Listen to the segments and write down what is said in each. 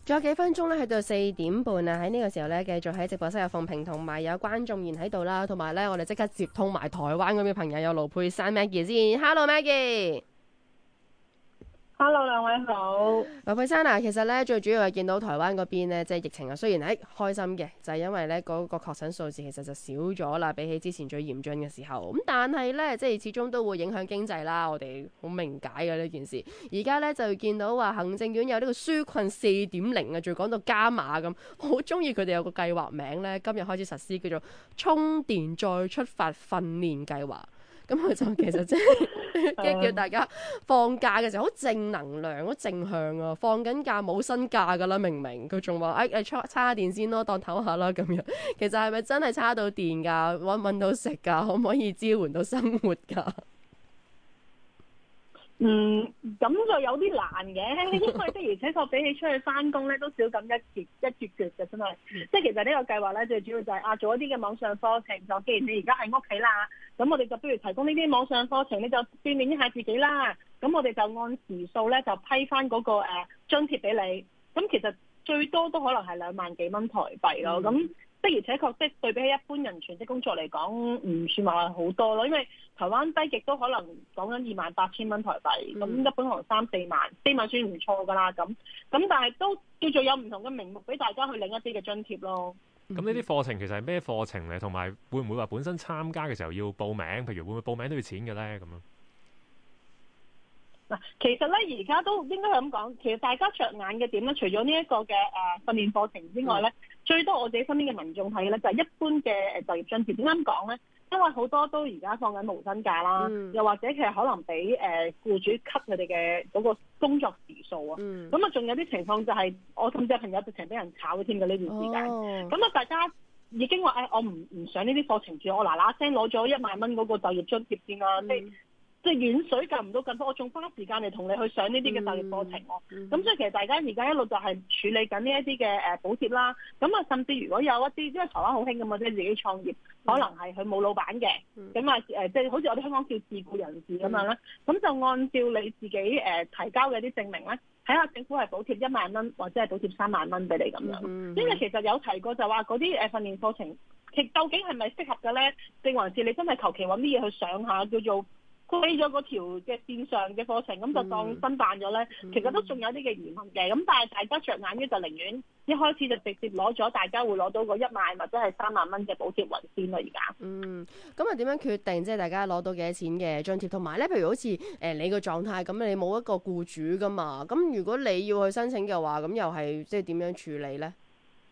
仲有幾分鐘咧，去到4點半啊！喺呢個時候咧，繼續喺直播室有鳳萍同埋有關仲賢喺度啦，同埋咧我哋即刻接通埋台灣嗰邊朋友有盧珮珊 Maggie 先。Hello Maggie。 Hello， 兩位好。 盧珮珊啊，其實咧最主要係見到台灣嗰邊咧，即係疫情啊，雖然係開心嘅，就係因為咧嗰個確診數字其實就少咗啦，比起之前最嚴峻嘅時候。咁但係咧，即係始終都會影響經濟啦，我哋好明解嘅呢件事。而家咧就見到話行政院有呢個紓困4.0啊，仲講到加碼咁，我好中意佢哋有個計劃名咧，今日開始實施叫做充電再出發訓練計劃。咁佢就其實即係叫大家放假嘅時候好正能量、好正向啊！放緊假冇薪假噶啦，明明佢仲話叉下電先咯，當唞下啦咁樣。其實係咪真係叉到電㗎？揾到食㗎？可唔可以支援到生活㗎？ 咁就有啲難嘅，因為的而且確比起出去翻工咧，都少咁一橛嘅，真係。即係其實呢個計劃咧，最主要就係做一啲嘅網上課程。就既然你而家喺屋企啦，咁我哋就不如提供呢啲網上課程，你就鍛鍊一下自己啦。咁我哋就按時數咧，就批翻嗰個津貼俾你。咁其實最多都可能係2萬幾蚊台幣咯。咁的而且確，即係對比起一般人全職工作嚟講，唔算話好多咯。因為台灣低極都可能講緊28,000蚊台幣，咁一般可能3-4萬，4萬算唔錯㗎啦。咁但係都叫做有唔同嘅名目俾大家去領一啲嘅津貼咯。 咁呢啲課程其實係咩課程嚟？同埋會唔會話本身參加嘅時候要報名？譬如會唔會報名都要錢嘅咧？咁樣嗱，其實咧而家都應該係咁講，其實大家着眼嘅點咧，除咗呢一個嘅訓練課程之外咧，最多我自己身邊嘅民眾睇嘅咧就係一般嘅就業津貼。點解咁講咧？因為好多都而家放緊無薪假啦，又或者其實可能俾僱主 cut 佢哋嘅嗰個工作時數啊，咁啊仲有啲情況就係我甚至有朋友直情俾人炒咗添嘅呢段時間，咁大家已經話我唔上呢啲課程住，我嗱嗱聲攞咗1萬蚊嗰個就業津貼先啦，即係遠水救唔到近火，我仲花時間嚟同你去上呢啲嘅就業課程喎。咁所以其實大家而家一路就係處理緊呢一啲嘅補貼啦。咁啊，甚至如果有一啲，因為台灣好興㗎嘛，即係自己創業，可能係佢冇老闆嘅，咁啊即係好似我哋香港叫自僱人士咁樣啦。咁就按照你自己提交嘅啲證明咧，睇下政府係補貼1萬蚊或者係補貼3萬蚊俾你咁樣。因為其實有提過就話嗰啲訓練課程，究竟係咪適合嘅咧？定還是你真係求其揾啲嘢去上下叫做飛咗嗰條嘅線上嘅課程，咁就當新辦咗咧，其實都仲有啲嘅疑問嘅。咁但係大家着眼於就寧願一開始就直接攞咗，大家會攞到個1萬或者係3萬蚊嘅補貼為先啦。而家咁啊點樣決定即係大家攞到幾多錢嘅津貼？同埋咧，譬如好似你個狀態咁，你冇一個僱主噶嘛？咁如果你要去申請嘅話，咁又係即係點樣處理咧？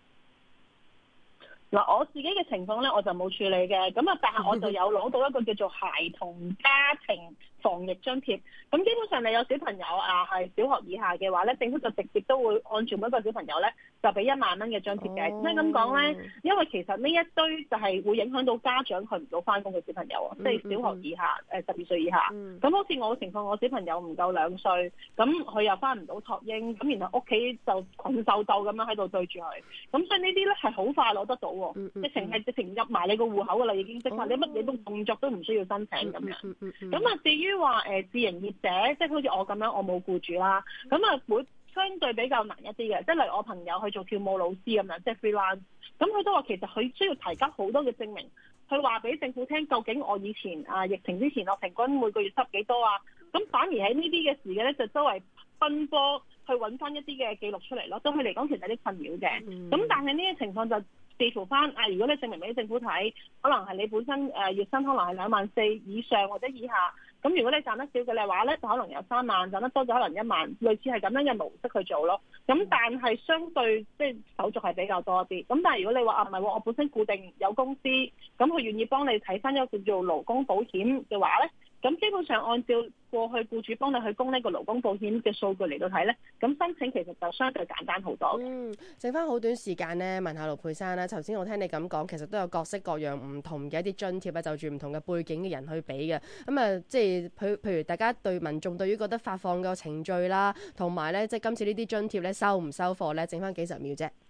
嗱，我自己嘅情況咧，我就冇處理嘅，咁啊，但係我就有攞到一個叫做孩童家庭防疫津貼。咁基本上你有小朋友係小學以下嘅話咧，政府就直接都會按住每一個小朋友咧就俾1萬蚊嘅津貼嘅。點解咁講咧？因為其實呢一堆就係會影響到家長去唔到翻工嘅小朋友啊，即係小學以下12歲以下。咁好似我嘅情況，我小朋友唔夠2歲，咁佢又翻唔到托嬰，咁然後屋企就困獸鬥咁樣喺度對住佢。咁所以呢啲咧係好快攞得到。直情入埋你個戶口噶啦，已經即係你乜嘢都動作都唔需要申請咁樣。咁啊，至於話自營業者，即係好似我咁樣，我冇僱主啦，咁啊會相對比較難一啲嘅。即係例如我朋友去做跳舞老師咁樣，即係 freelance，咁佢都話其實佢需要提交好多嘅證明，去話俾政府聽究竟我以前疫情之前我平均每個月收幾多啊？咁反而喺呢啲嘅時嘅咧，就周圍奔波去揾翻一啲嘅記錄出嚟咯。對佢嚟講其實有啲困擾嘅。咁但係呢啲情況就視乎翻如果你證明俾政府睇，可能係你本身月薪可能係24,000以上或者以下。咁如果你賺得少嘅話咧，就可能有3萬；賺得多就可能1萬，類似係咁樣嘅模式去做咯。咁但係相對即係手續係比較多啲。咁但係如果你話唔係喎，我本身固定有公司，咁佢願意幫你睇翻一個叫做勞工保險嘅話咧，咁基本上按照過去僱主幫你去供呢個勞工保險嘅數據嚟到睇咧，咁申請其實就相對簡單好多。 剩翻好短時間呢，問下盧珮珊啦。頭先我聽你咁講，其實都有各式各樣唔同嘅一啲津貼啊，就住唔同嘅背景嘅人去俾嘅。咁啊，即係譬如大家對民眾對於覺得發放嘅程序啦，同埋咧即係今次呢啲津貼咧收唔收貨咧，剩翻幾十秒啫。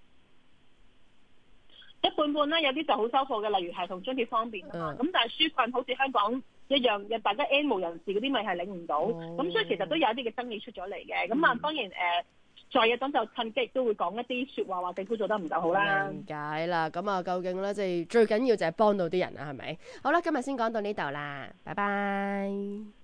一半半啦，有啲就好收貨嘅，例如係同津貼方面啊嘛。咁但係紓困好似香港一樣，大家 N 無人士嗰啲咪係領唔到，咁所以其實都有一啲嘅爭議出咗嚟嘅。咁當然在野黨就趁機亦都會講一啲説話，話政府做得唔夠好啦。 明解啦，咁啊，究竟咧即係最緊要就係幫到啲人啊，係咪？好啦，今日先講到呢度啦，拜拜。